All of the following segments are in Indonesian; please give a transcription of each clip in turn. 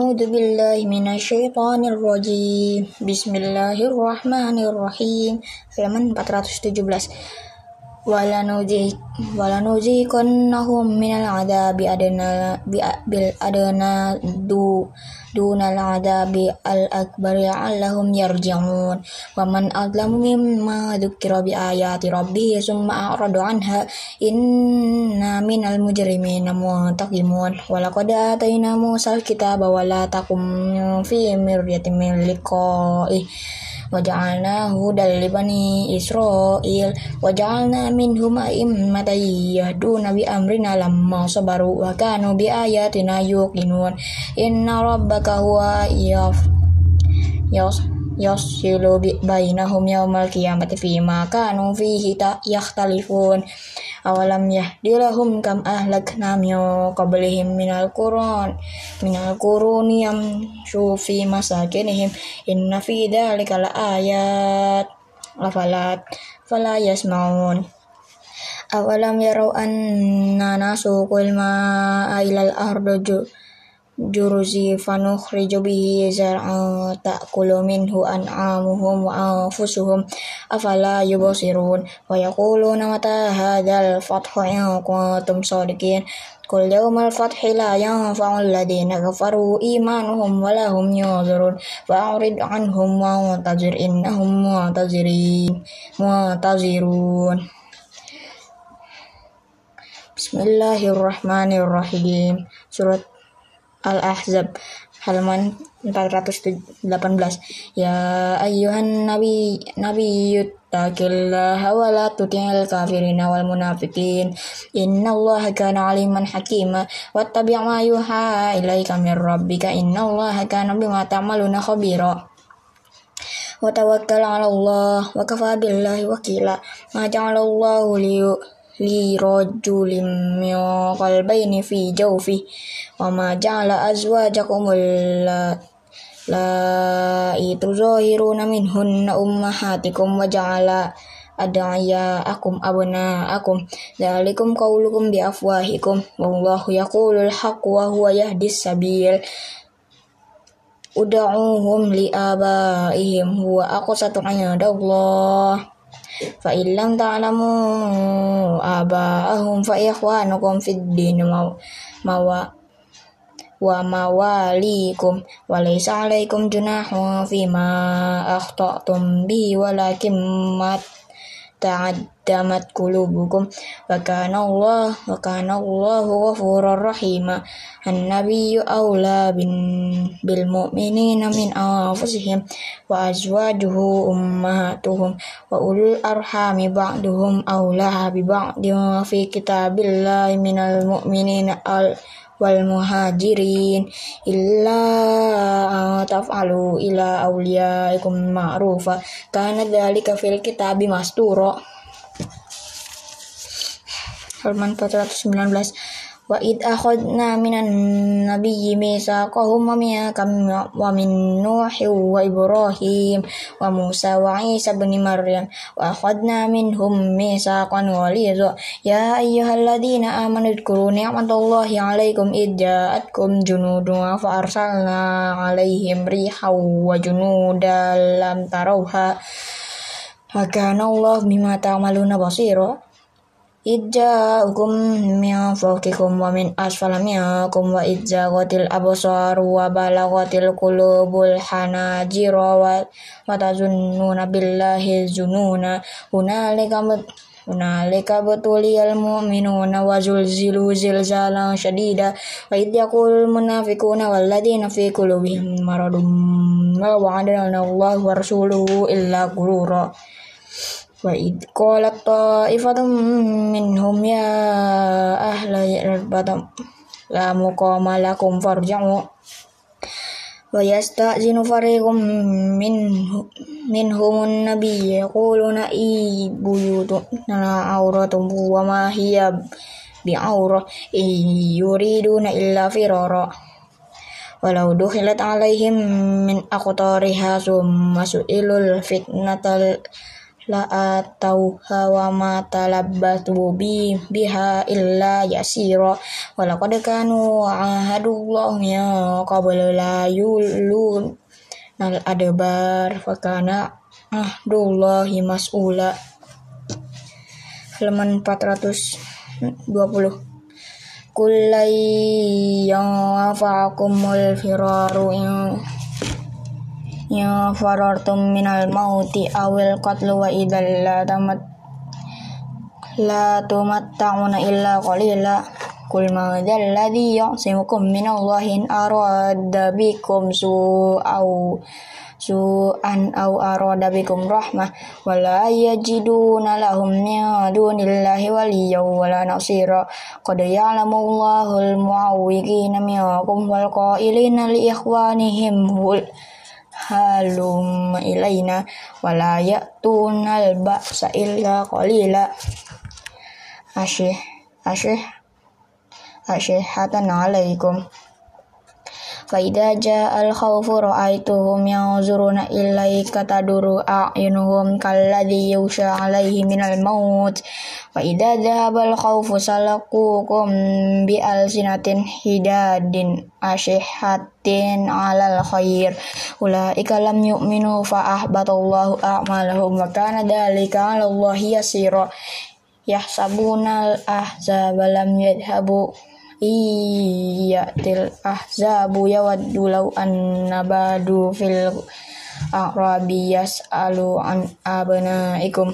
A'udzu billahi minasyaitonir rajim. Bismillahirrahmanirrahim. Halaman 417. Walanuziqannahum minal adabi bil adna dunal adabi al akbari la'allahum yarji'un. Wa man adlamu mimma dzukira bi ayati rabbih summa a'rada anha inna minal mujrimina muntaqimun. Wa laqad atayna Musal kitaba wa la takum fi miryatin min liqa'i wa ja'alna hudan li bani Israil wa ja'alna minhum a'immatan yahduna bi amrina lamma sabaru wa kanu bi ayatina yuqinun. Inna rabbaka huwa yafsilu bainahum yawmal qiyamati fima kanu fihi yakhtalifun. Awalam yahdilahum kam ahlakna min qablihim minal quruni yamshu fi masakinihim inna fi dzalika laayat fala yasma'un. Awalam yarau anna nasuqul ma'a ilal ardi juruzi fanukhriju bihi zar'an ta'kulu minhu an'amuhum wa anfusuhum afala yubsirun. Wa yaquluna mata hadzal fathu in kuntum shadiqin. Qul yawmal fathi la yanfa'u alladhina kafaru imanuhum wa lahum yunzarun. Fa'rid anhum wa'tazir innahum mu'tazirun. Bismillahirrahmanirrahim. Surat Al-Ahzab halaman 418. Ya ayyuhan nabiyyuttaqillaha wa la tuti'il kafirina wal munafiqin innallaha kana aliman hakima wattabi' ma yuha ilaika mir rabbika innallaha kana bima ta'maluna khabira. Wa tawakkal 'ala Allah wa kafa billahi wakila. Ma ja'alallahu li rajulin min qalbayni fi jawfi wa ma ja'ala azwajakum allati tuzahiruna minhunna ummahatikum wa ja'ala ad'iyaakum abna'akum dzalikum qawlukum bi afwahikum wallahu yaqulul haqqa wa huwa yahdis sabil. Ud'uuhum li abaihim huwa aqsatu 'inda Allah fa illam ta'lamu aba'ahum fa ikhwanukum fid din wa mawalikum wa laysa 'alaikum junahun fima akhta'tum bihi walakin ma ta'addamat qulubukum wa kana Allahu ghafurur rahima. An-nabiyyu awla bil mu'minina min anfusihim wa azwajuhu ummahatuhum wa ulul arhami ba'duhum awla bi ba'din fi kitabillahi minal mu'minina wal muhajirin illa taf'alu ila awliyaikum ma'rufa kana dzalika fil kitabi mastura. Halaman 419. Wa id akhadna minan nabiyyi mitsaqahum wa minkum wa min Nuhin wa Ibrahim wa Musa wa Isa ibn Maryam wa akhadna minhum mitsaqan ghalidha. Ya ayyuhalladzina amanu dzkuru ni'matallahi 'alaikum id ja'atkum junudun fa arsalna 'alaihim rihan wa junudan lam tarawha wa kana Allahu bima ta'maluna basira. Idza'ukum min fawqikum wa min asfala minkum wa idzaghatil absaru wa balaghatil qulubul hanajira wa tazunnuna billahi zununa hunalika butuliyal mu'minuna wa zulzilu zilzalan shadida wa idh yaqulul munafiquna wal ladzina fi qulubihim maradun ma wa'adana Allahu wa rasuluhu illa ghurura. Wa id qalat ta'ifatun minhum ya ahla yarbatam la muqama lakum farja'u wa yasta'zinu fariqum minhumun nabiyya yaquluna buyutuna awratun wa ma hiya bi'awrah yuriduna illa firara walau dukhilat alaihim min aqtariha summa su'ilul fitnatal la atauha wa ma talabbatu biha illa yasira wa laqad kanu ahadullah ya qabla la yulun nal adbar fa kana ahdullahi mas'ula. Halaman 420. Kullai yanfa'akumul firaru in farartum minal mauti awil qatlu wa idzal la tumatta'una illa qalila. Qul ma dzal ladzi ya'simukum minallahi in arada bikum su'an aw arada bikum rahmah wala yajiduna lahum min dunillahi waliyyan wala nasira. Qad ya'lamullahu al-mu'awwiqina minkum wal qailina li ikhwanihim halum ilaina wala ya'tunal ba'sa illa qalila. Asyihatan alaikum fa idza ja'al khawfu ra'aituhum yanzuruna ilaika taduru a'yunuhum kalladzi yusha 'alaihi minal maut fa idza dhahabal khawfu salaqukum bi alsinatin hidadin asyihatin 'alal khair ulaika lam yu'minu fa ahbatallahu a'malahum wa kana dzalika 'alallahi yasira. Yahsabunal ahzaba lam yadhhabu iyatil ahzabu yawaddu law annabadu fil a'rabi yas'alu an abnaikum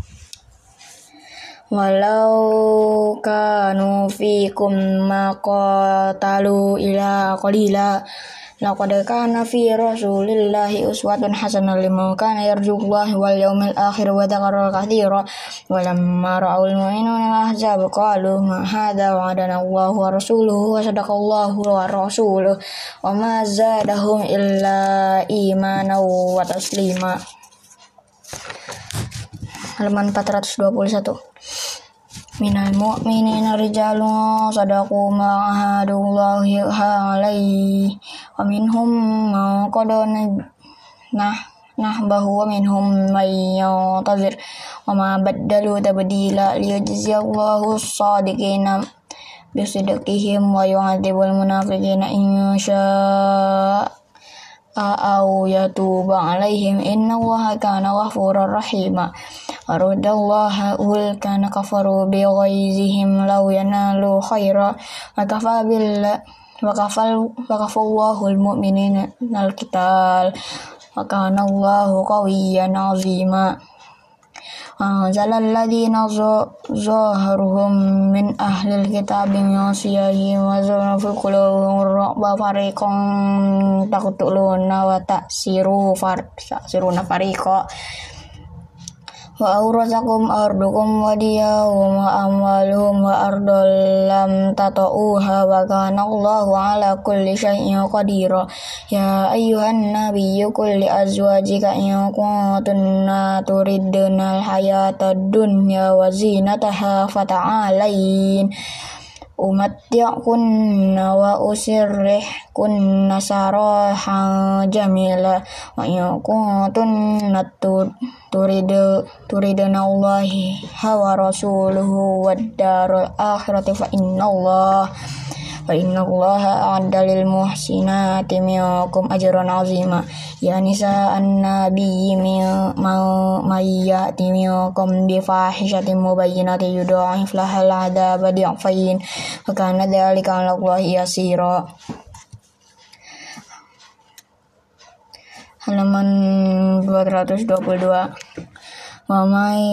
walau kanu fikum maqatalu ila qalila. Laqad kana fi rasulillahi uswatun hasanah liman kana yarjullaha wal yawmal akhir wa dzakara katsira. Walamma ra'awul mu'minuna al-ahzaba qalu ma hadza wa'adana Allahu wa rasuluhu wa sadaqallahu wa rasuluhu wa ma zadahum illa imanan wa taslima. Halaman 421. Minal mu'minina rijalun sadaqu ma ahadullahi alaihi wa minhum man qada nahbahu wa minhum man yantazir wa ma baddalu tabdila liyajziyallahu as-sadiqina bisidqihim wa yu'adzibul munafiqina in syaa aw yatuba alaihim innallaha kana ghafurur rahima. Aradallahu ulkana kafaru bi ghaizihim law yanalu khaira wa kafallahu al-mu'minina al-qital wa kana Allahu qawiyyan 'azima. Anzalal ladzina zaharuhum min ahlil kitabi min siyahihim wa zalna fi qulubihim ra'ba fariqan taqtuluna wa ta'siruna fariqa wa awrasakum ardukum wa diyahum wa amwaluhum wa ardal lam tata'uha wa kana Allahu ala kulli syai'in qadira. Ya ayyuhan nabiyyu qul li azwajika in kuntunna turidna al-hayata ad-dunya wa zinataha fata'alain umatti'kunna wa usirrihkunna sarahan jamila wa in kuntunna turidna Allahi wa rasuluhu wad darul akhirati fa innallaha a'adda lil muhsinati minkum ajran 'azima. Ya nisa an-nabiyyi may ya'ti minkum bi fahishatin mubayyinatin yudha'af lahal 'adzaba di'fayn wa kana dzalika 'ala Allahi yasira. Halaman 222. Wa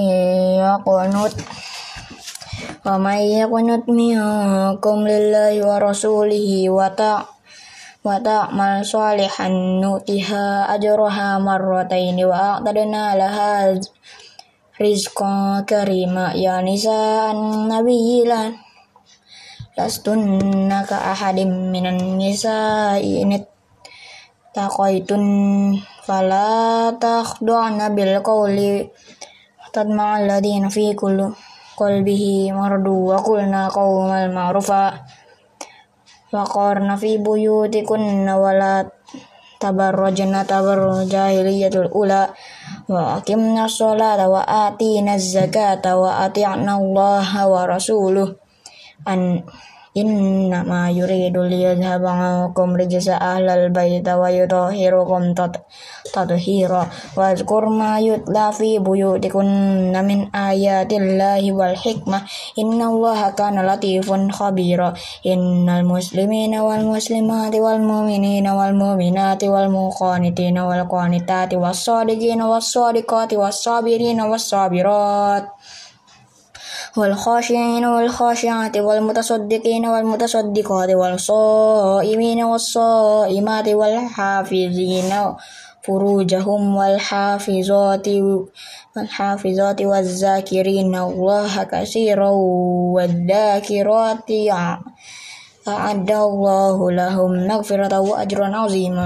may yaqnut minkum lillahi wa rasulihi wa ta'mal salihan nutiha ajraha marrataini wa a'tadna laha rizqan karima. Ya nisa an-nabiyyi lastunna ka ahadim minan nisa'i in taqaitun fala takhdu'na bil qawli tadma'a alladhina fi qalbihi maradu wa qulna qawlan ma'rufa wa qarna fi buyutikunna wa la tabarrajna tabarruj jahiliyatul ula وأقمنا الصلاة وآتينا الزكاة وأطعنا الله ورسوله إنما يريد ليذهب عنكم رجس أهل البيت ويطهركم تطهيرا واذكر ما يتلى في بيوتكن من آيات الله والحكمة إن الله كان لطيفا خبيرا إن المسلمين والمسلمات والمؤمنين والمؤمنات والقانتين والقانتات والصادقين والصادقات والصابرين والصابرات والخاشعين والخاشعات والمتصدقين والمتصدقات والصائمين والصائمات والحافظين فروجهم والحافظات والذاكرين الله كثيرا والذاكرات أعد الله لهم مغفرة وأجرا عظيما.